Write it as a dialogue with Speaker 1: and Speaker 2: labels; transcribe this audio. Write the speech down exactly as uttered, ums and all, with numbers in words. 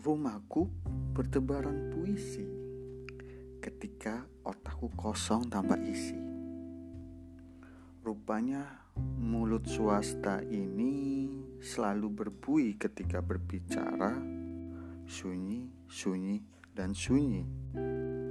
Speaker 1: Rumahku bertebaran puisi ketika otakku kosong tanpa isi. Rupanya mulut swasta ini selalu berbui ketika berbicara, sunyi, sunyi, dan sunyi.